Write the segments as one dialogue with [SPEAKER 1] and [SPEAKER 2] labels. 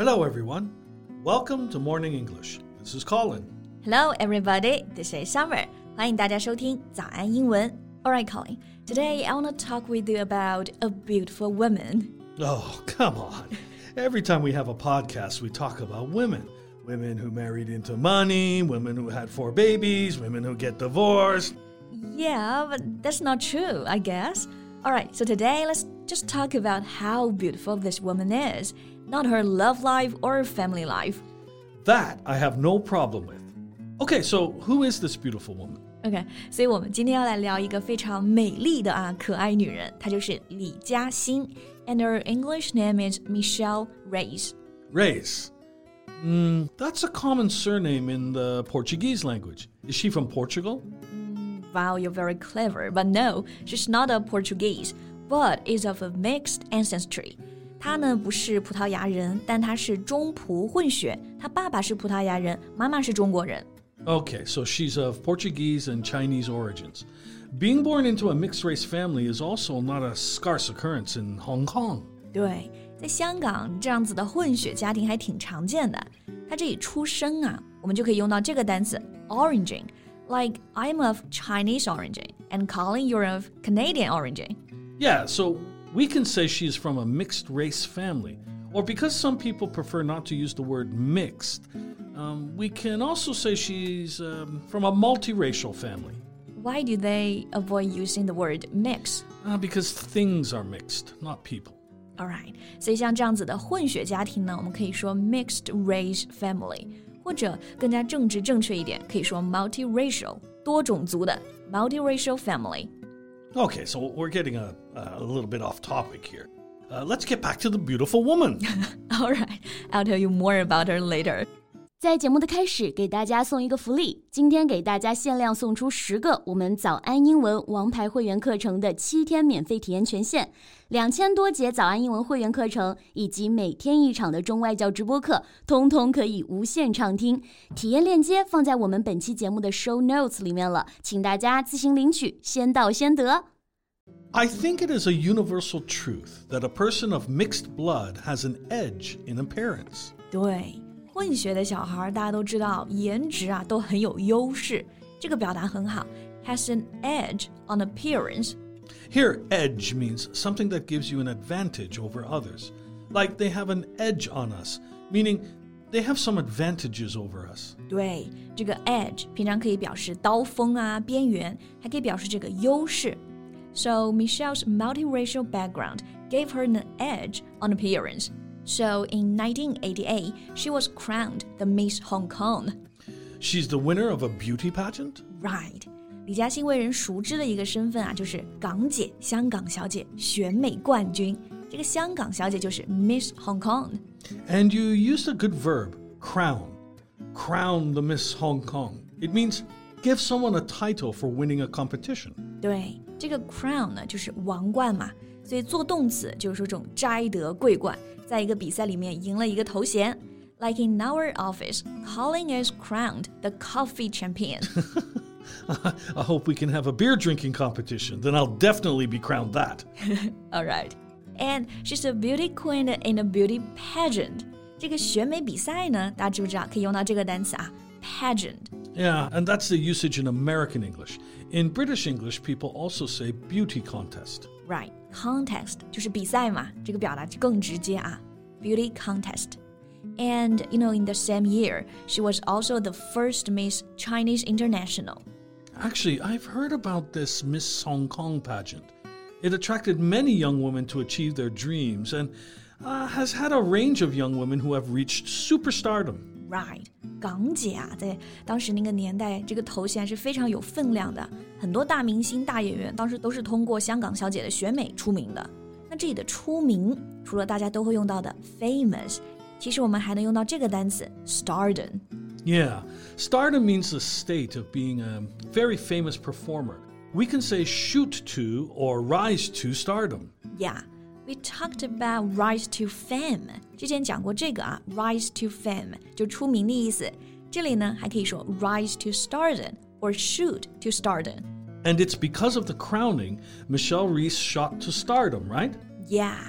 [SPEAKER 1] Hello, everyone. Welcome to Morning English. This is Colin.
[SPEAKER 2] Hello, everybody. This is Summer. 欢迎大家收听早安英文。All right, Colin. Today, I want to talk with you about a beautiful woman.
[SPEAKER 1] Oh, come on. Every time we have a podcast, we talk about women. Women who married into money, women who had 4 babies, women who get divorced.
[SPEAKER 2] Yeah, but that's not true, I guess. All right, so today, let's just talk about how beautiful this woman is, not her love life or family life.
[SPEAKER 1] That I have no problem with. Okay, so who is this beautiful woman?
[SPEAKER 2] OK, 所以我们今天要来聊一个非常美丽的可爱女人，她就是李嘉欣 and her English name is Michelle Reyes.
[SPEAKER 1] Reyes. That's a common surname in the Portuguese language. Is she from Portugal?
[SPEAKER 2] Wow, you're very clever, but no, she's not a Portuguese, but is of a mixed ancestry. 她呢不是葡萄牙人，但她是中葡混血，她爸爸是葡萄牙人，妈妈是中国人。
[SPEAKER 1] Okay, so she's of Portuguese and Chinese origins. Being born into a mixed-race family is also not a scarce occurrence in Hong Kong.
[SPEAKER 2] 对，在香港这样子的混血家庭还挺常见的。她这里出生我们就可以用到这个单词 origin, like I'm of Chinese origin, and Colin, you're of Canadian origin.
[SPEAKER 1] Yeah, so we can say she's from a mixed-race family. Or because some people prefer not to use the word mixed, we can also say she's from a multiracial family.
[SPEAKER 2] Why do they avoid using the word mix?
[SPEAKER 1] Because things are mixed, not people.
[SPEAKER 2] Alright, 所以像这样子的混血家庭呢，我们可以说 mixed race family, 或者更加政治正确一点，可以说 multiracial, 多种族的 multiracial family.
[SPEAKER 1] Okay, so we're getting a little bit off topic here. Let's get back to the beautiful woman.
[SPEAKER 2] Alright, I'll tell you more about her later.
[SPEAKER 3] 在节目的开始，给大家送一个福利。今天给大家限量送出10个我们早安英文王牌会员课程的7天免费体验权限，2000多节早安英文会员课程以及每天1场的中外教直播课，通通可以无限畅听。体验链接放在我们本期节目的 show notes 里面了，请大家自行领取，先到先得。
[SPEAKER 1] I think it is a universal truth that a person of mixed blood has an edge in appearance.
[SPEAKER 2] 对，混血的小孩大家都知道，颜值都很有优势。这个表达很好 ，has an edge on appearance.
[SPEAKER 1] Here, edge means something that gives you an advantage over others. Like they have an edge on us, meaning they have some advantages over us.
[SPEAKER 2] 对，这个 edge 平常可以表示刀锋边缘，还可以表示这个优势。So Michelle's multiracial background gave her an edge on appearance. So in 1988, she was crowned the Miss Hong Kong.
[SPEAKER 1] She's the winner of a beauty pageant?
[SPEAKER 2] Right. 李嘉欣为人熟知的一个身份就是港姐、香港小姐选美冠军。这个香港小姐就是 Miss Hong Kong.
[SPEAKER 1] And you used a good verb, crown. Crown the Miss Hong Kong. It means give someone a title for winning a competition.
[SPEAKER 2] 对，这个 crown 呢就是王冠嘛，所以做动词就是说这種摘得桂冠，在一个比赛里面赢了一个头衔。Like in our office, Colin is crowned the coffee champion.
[SPEAKER 1] I hope we can have a beer drinking competition. Then I'll definitely be crowned that.
[SPEAKER 2] All right. And she's a beauty queen in a beauty pageant. 这个选美比赛呢，大家知不知道可以用到这个单词pageant.
[SPEAKER 1] Yeah, and that's the usage in American English. In British English, people also say beauty contest.
[SPEAKER 2] Right, contest 就是比赛嘛，这个表达更直接beauty contest. And, in the same year, she was also the first Miss Chinese International.
[SPEAKER 1] Actually, I've heard about this Miss Hong Kong pageant. It attracted many young women to achieve their dreams and has had a range of young women who have reached superstardom.
[SPEAKER 2] Right, 港姐在当时那个年代，这个头衔是非常有分量的。很多大明星、大演员当时都是通过香港小姐的选美出名的。那这里的出名，除了大家都会用到的 famous， 其实我们还能用到这个单词 stardom.
[SPEAKER 1] Yeah, stardom means the state of being a very famous performer. We can say shoot to or rise to stardom.
[SPEAKER 2] Yeah.We talked about rise to fame. 之前讲过这个rise to fame 就出名的意思。这里呢还可以说 rise to stardom or shoot to stardom.
[SPEAKER 1] And it's because of the crowning, Michelle Reyes shot to stardom, right?
[SPEAKER 2] Yeah,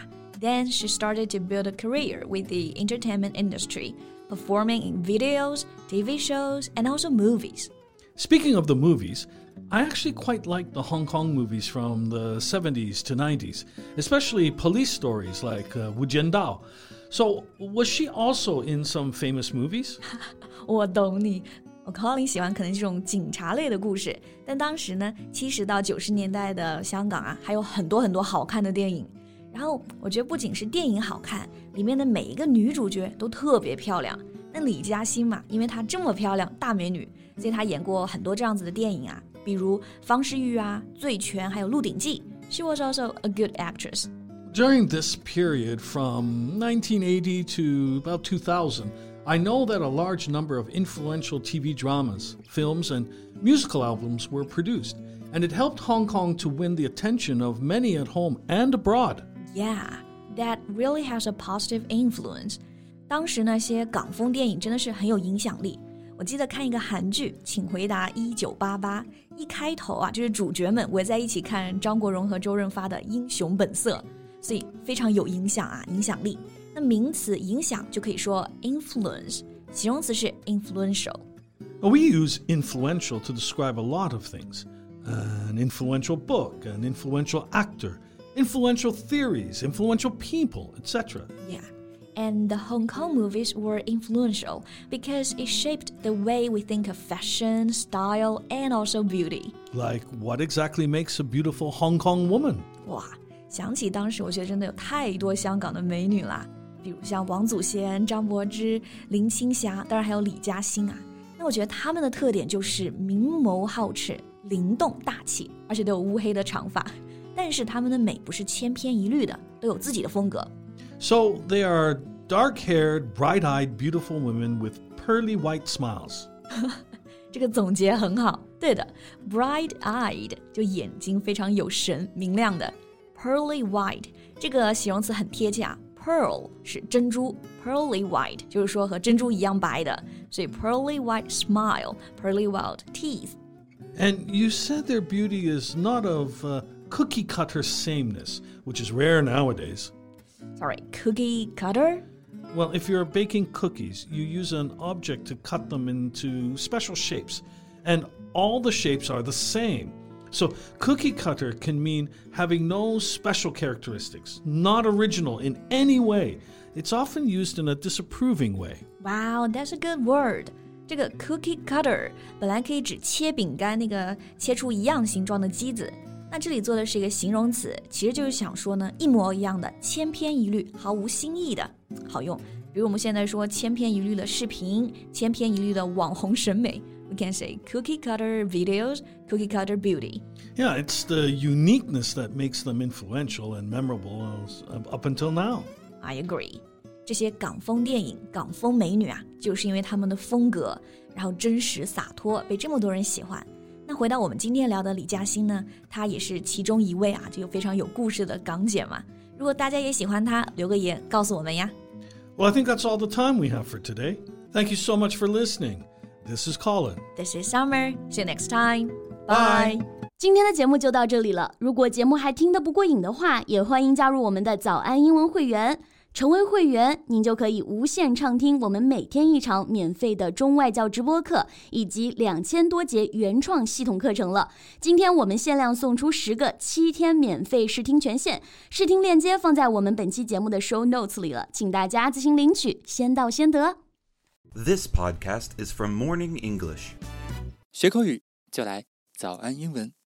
[SPEAKER 2] Then she started to build a career with the entertainment industry, performing in videos, TV shows, and also movies.
[SPEAKER 1] Speaking of the movies, I actually quite like the Hong Kong movies from the 70s to 90s, especially police stories like Wu Jiandao. So, was she also in some famous movies?
[SPEAKER 2] 我懂你，我 Colin 喜欢可能这种警察类的故事，但当时呢，70到90年代的香港啊，还有很多很多好看的电影。然后我觉得不仅是电影好看，里面的每一个女主角都特别漂亮。那李嘉欣嘛，因为她这么漂亮，大美女，所以她演过很多这样子的电影啊，比如方世玉啊、醉拳，还有鹿鼎记。She was also a good actress.
[SPEAKER 1] During this period from 1980 to about 2000, I know that a large number of influential TV dramas, films, and musical albums were produced, and it helped Hong Kong to win the attention of many at home and abroad.
[SPEAKER 2] Yeah, that really has a positive influence. 当时那些港风电影真的是很有影响力。我记得看一个韩剧《请回答1988》，一开头啊，就是主角们围在一起看张国荣和周润发的《英雄本色》，所以非常有影响啊，影响力。那名词影响就可以说 influence， 形容词是 influential。
[SPEAKER 1] We use influential to describe a lot of things. An influential book, an influential actor, influential theories, influential people, etc.
[SPEAKER 2] Yeah, and the Hong Kong movies were influential because it shaped the way we think of fashion, style, and also beauty.
[SPEAKER 1] Like, what exactly makes a beautiful Hong Kong woman?
[SPEAKER 2] 哇，想起当时我觉得真的有太多香港的美女啦，比如像王祖贤、张柏芝、林青霞，当然还有李嘉欣啊。那我觉得她们的特点就是明眸皓齿、灵动大气，而且都有乌黑的长发。但是她们的美不是千篇一律的，都有自己的风格。
[SPEAKER 1] So they are dark-haired, bright-eyed, beautiful women with pearly white smiles.
[SPEAKER 2] 这个总结很好，对的 ，bright-eyed 就眼睛非常有神、明亮的 ，pearly white 这个形容词很贴切啊。Pearl 是珍珠 ，pearly white 就是说和珍珠一样白的，所以 pearly white smile, pearly white teeth.
[SPEAKER 1] And you said their beauty is not of cookie-cutter sameness, which is rare nowadays.
[SPEAKER 2] Sorry, cookie cutter?
[SPEAKER 1] Well, if you're baking cookies, you use an object to cut them into special shapes, and all the shapes are the same. So cookie cutter can mean having no special characteristics, not original in any way. It's often used in a disapproving way.
[SPEAKER 2] Wow, that's a good word. 这个 cookie cutter 本来可以指切饼干那个切出一样形状的机子，那这里做的是一个形容词，其实就是想说呢，一模一样的，千篇一律，毫无新意的，好用。比如我们现在说千篇一律的视频，千篇一律的网红审美。We can say cookie cutter videos, cookie cutter beauty.
[SPEAKER 1] Yeah, it's the uniqueness that makes them influential and memorable up until now.
[SPEAKER 2] I agree. 这些港风电影、港风美女啊，就是因为她们的风格，然后真实洒脱，被这么多人喜欢。那回到我们今天聊的李嘉欣呢，她也是其中一位啊，这个非常有故事的港姐嘛。如果大家也喜欢她，留个言告诉我们呀。
[SPEAKER 1] Well, I think that's all the time we have for today. Thank you so much for listening. This is Colin.
[SPEAKER 2] This is Summer. See you next time.
[SPEAKER 1] Bye.
[SPEAKER 2] Bye.
[SPEAKER 3] 今天的节目就到这里了。如果节目还听得不过瘾的话，也欢迎加入我们的早安英文会员。成为会员，您就可以无限畅听我们每天一场免费的中外教直播课，以及2000多节原创系统课程了。今天我们限量送出10个7天免费试听权限，试听链接放在我们本期节目的 show notes 里了，请大家自行领取，先到先得。
[SPEAKER 4] This podcast is from Morning English.
[SPEAKER 5] 学口语就来早安英文。